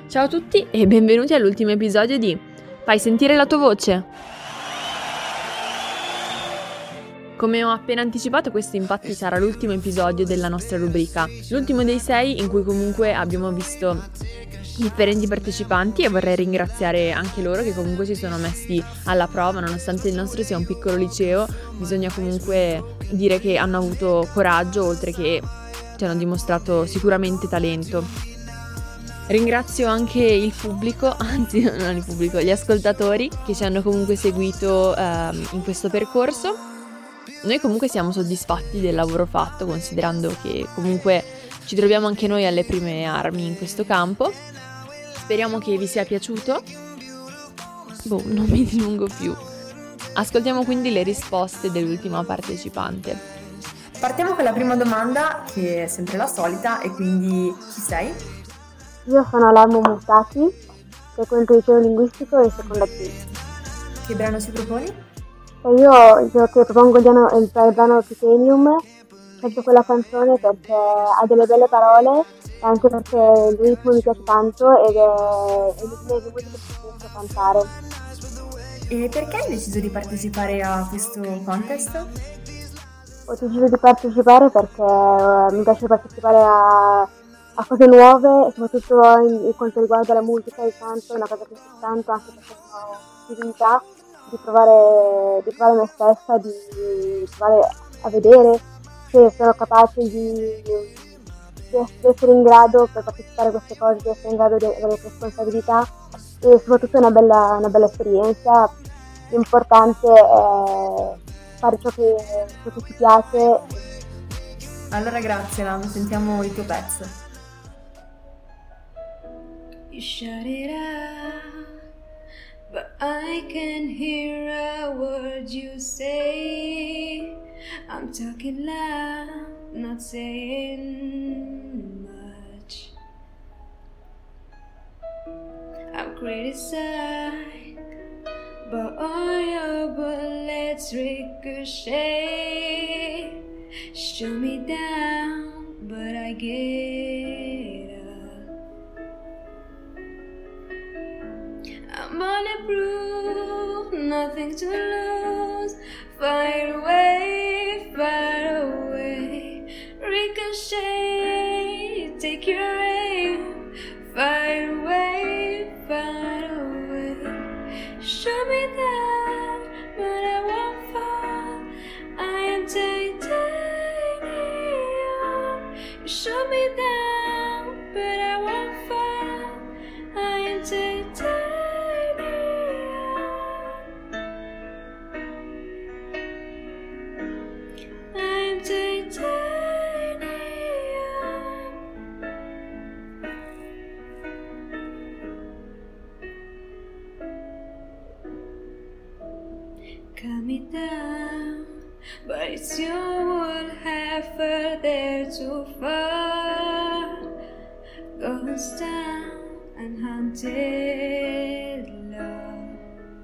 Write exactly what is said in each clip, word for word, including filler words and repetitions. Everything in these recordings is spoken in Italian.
Ciao a tutti e benvenuti all'ultimo episodio di Fai sentire la tua voce. Come ho appena anticipato, questo infatti sarà l'ultimo episodio della nostra rubrica, l'ultimo dei sei in cui comunque abbiamo visto differenti partecipanti e vorrei ringraziare anche loro che comunque si sono messi alla prova. Nonostante il nostro sia un piccolo liceo, bisogna comunque dire che hanno avuto coraggio, oltre che ci hanno dimostrato sicuramente talento. Ringrazio anche il pubblico, anzi non il pubblico, gli ascoltatori che ci hanno comunque seguito ehm, in questo percorso. Noi comunque siamo soddisfatti del lavoro fatto, considerando che comunque ci troviamo anche noi alle prime armi in questo campo. Speriamo che vi sia piaciuto. Boh, non mi dilungo più. Ascoltiamo quindi le risposte dell'ultima partecipante. Partiamo con la prima domanda, che è sempre la solita, e quindi chi sei? Io sono Lammo Mutaki, frequento il liceo linguistico e seconda P. Che brano ci proponi? E io, io che propongo il brano, il brano Titanium, ho scelto quella canzone perché ha delle belle parole e anche perché il ritmo mi piace tanto ed è una delle musiche che preferisco cantare. E perché hai deciso di partecipare a questo contest? Ho deciso di partecipare perché eh, mi piace partecipare a, a cose nuove, soprattutto in, in quanto riguarda la musica e il canto, è una cosa che mi piace tanto, anche perché ho possibilità di provare, di provare me stessa, di, di provare a vedere se sono capace di, di essere in grado per partecipare a queste cose, di essere in grado di avere responsabilità e soprattutto è una bella, una bella esperienza. L'importante è fare ciò che, ciò che ti piace. Allora grazie Lam, sentiamo il tuo pezzo. You shout it out, but I can hear a word you say. I'm talking loud, not saying much. I'm criticized, but all your bullets ricochet. Shoot me down, but I get up. I'm bulletproof, nothing to lose. Fight away, fight away. Ricochet, take your aim. Fight away, fight away. Shoot me down, but I won't fall. I am titanium. You shoot me down, but I won't fall. I am titanium. I am titanium. Cut me down, but it's your would have further too far. Goes down and haunted love.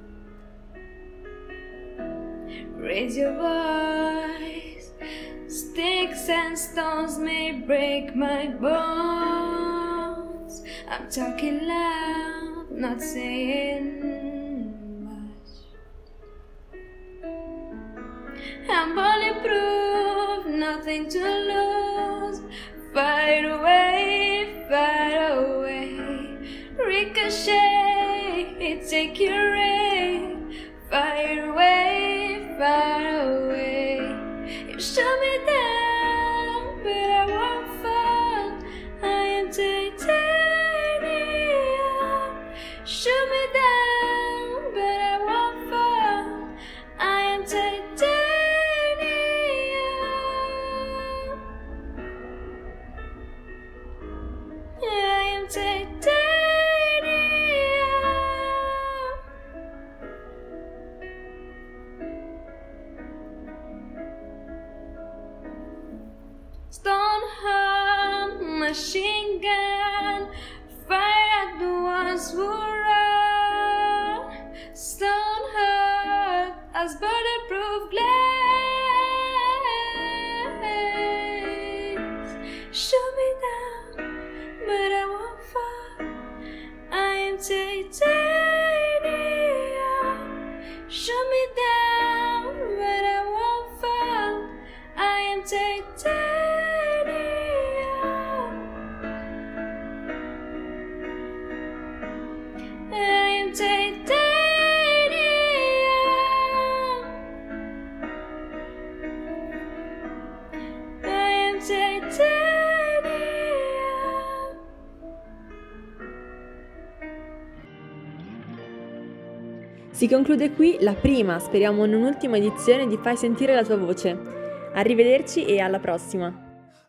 Raise your voice. Sticks and stones may break my bones. I'm talking loud, not saying much. I'm bulletproof, nothing to lose. Fight away, fight away. Ricochet, take your aim. Fight away, fight away. You shut me down, but I won't fall. I am titanium. Shoot me down, but I won't fall. I am titanium. I am titanium. titanium. Shut me down, but I won't fall. I am titanium. I am titanium. I am titanium. Si conclude qui la prima, speriamo non ultima edizione di Fai sentire la tua voce. Arrivederci e alla prossima!